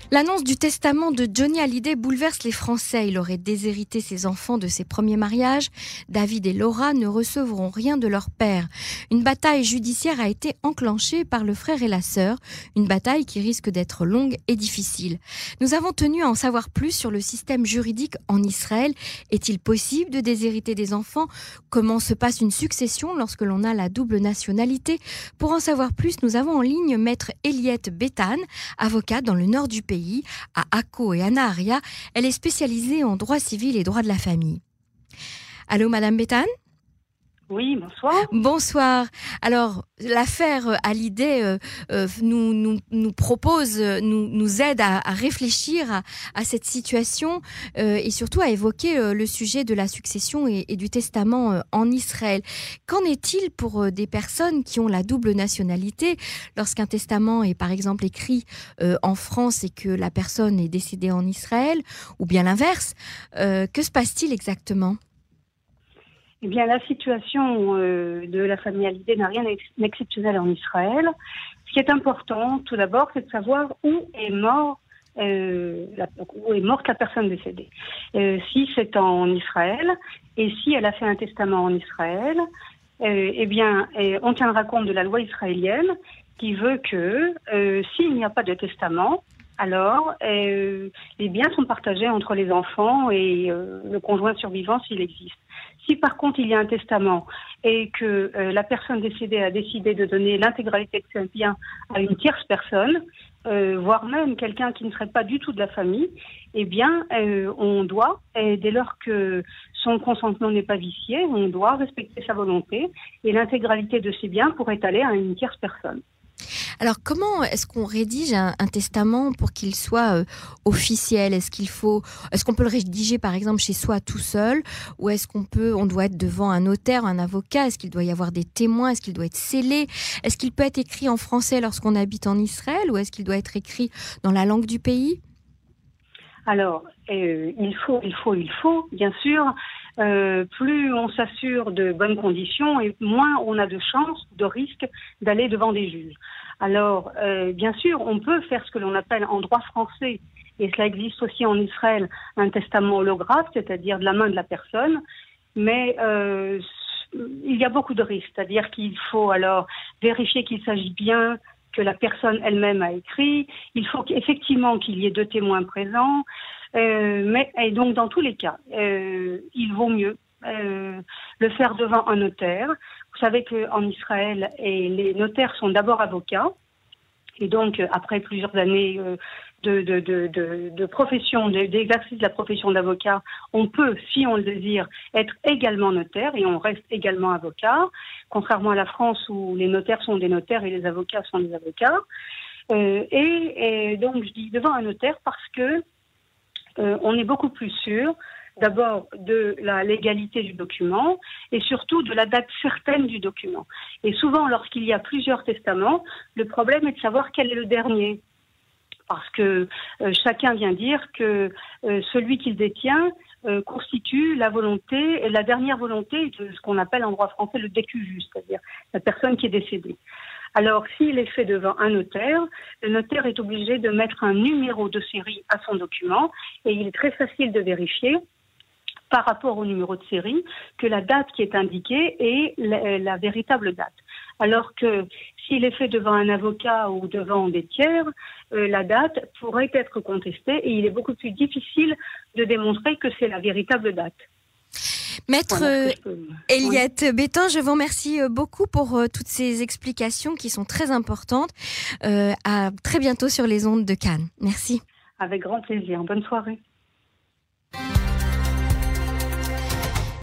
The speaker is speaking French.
L'annonce du testament de Johnny Hallyday bouleverse les Français. Il aurait déshérité ses enfants de ses premiers mariages. David et Laura ne recevront rien de leur père. Une bataille judiciaire a été enclenchée par le frère et la sœur. Une bataille qui risque d'être longue et difficile. Nous avons tenu à en savoir plus sur le système juridique en Israël. Est-il possible de déshériter des enfants ? Comment se passe une succession lorsque l'on a la double nationalité ? Pour en savoir plus, nous avons en ligne Maître Eliette Bétan, avocate dans le nord du pays, à Akko et Anna Aria. Elle est spécialisée en droit civil et droit de la famille. Allô, Madame Bétan ? Oui, bonsoir. Bonsoir. Alors, l'affaire Hallyday nous propose, nous aide à réfléchir à cette situation et surtout à évoquer le sujet de la succession et du testament en Israël. Qu'en est-il pour des personnes qui ont la double nationalité lorsqu'un testament est par exemple écrit en France et que la personne est décédée en Israël, ou bien l'inverse? Que se passe-t-il exactement ? Eh bien, la situation de la famille Hallyday n'a rien d'exceptionnel en Israël. Ce qui est important, tout d'abord, c'est de savoir où est morte la personne décédée. Si c'est en Israël et si elle a fait un testament en Israël, on tiendra compte de la loi israélienne qui veut que s'il n'y a pas de testament, alors les biens sont partagés entre les enfants et le conjoint survivant s'il existe. Si par contre il y a un testament et que la personne décédée a décidé de donner l'intégralité de ses biens à une tierce personne, voire même quelqu'un qui ne serait pas du tout de la famille, eh bien on doit, dès lors que son consentement n'est pas vicié, on doit respecter sa volonté et l'intégralité de ses biens pourrait aller à une tierce personne. Alors, comment est-ce qu'on rédige un testament pour qu'il soit officiel ? Est-ce qu'on peut le rédiger, par exemple, chez soi tout seul ? Ou est-ce on doit être devant un notaire, un avocat ? Est-ce qu'il doit y avoir des témoins ? Est-ce qu'il doit être scellé ? Est-ce qu'il peut être écrit en français lorsqu'on habite en Israël ? Ou est-ce qu'il doit être écrit dans la langue du pays ? Alors, il faut, bien sûr. Plus on s'assure de bonnes conditions et moins on a de chances, de risques d'aller devant des juges. Alors, bien sûr, on peut faire ce que l'on appelle en droit français, et cela existe aussi en Israël, un testament holographe, c'est-à-dire de la main de la personne, mais il y a beaucoup de risques, c'est-à-dire qu'il faut alors vérifier qu'il s'agit bien que la personne elle-même a écrit, il faut effectivement qu'il y ait deux témoins présents, et donc dans tous les cas, il vaut mieux le faire devant un notaire. Vous savez qu'en Israël, les notaires sont d'abord avocats, et donc après plusieurs années de profession, d'exercice de la profession d'avocat, on peut, si on le désire, être également notaire et on reste également avocat, contrairement à la France où les notaires sont des notaires et les avocats sont des avocats. Et donc je dis devant un notaire parce que on est beaucoup plus sûr d'abord de la légalité du document et surtout de la date certaine du document. Et souvent, lorsqu'il y a plusieurs testaments, le problème est de savoir quel est le dernier. Parce que chacun vient dire que celui qu'il détient constitue la dernière volonté de ce qu'on appelle en droit français le décuvu, c'est-à-dire la personne qui est décédée. Alors, s'il est fait devant un notaire, le notaire est obligé de mettre un numéro de série à son document et il est très facile de vérifier par rapport au numéro de série que la date qui est indiquée est la véritable date. Alors que s'il est fait devant un avocat ou devant des tiers, la date pourrait être contestée et il est beaucoup plus difficile de démontrer que c'est la véritable date. Maître Eliette Bétan, je vous remercie beaucoup pour toutes ces explications qui sont très importantes. À très bientôt sur les ondes de Cannes. Merci. Avec grand plaisir. Bonne soirée.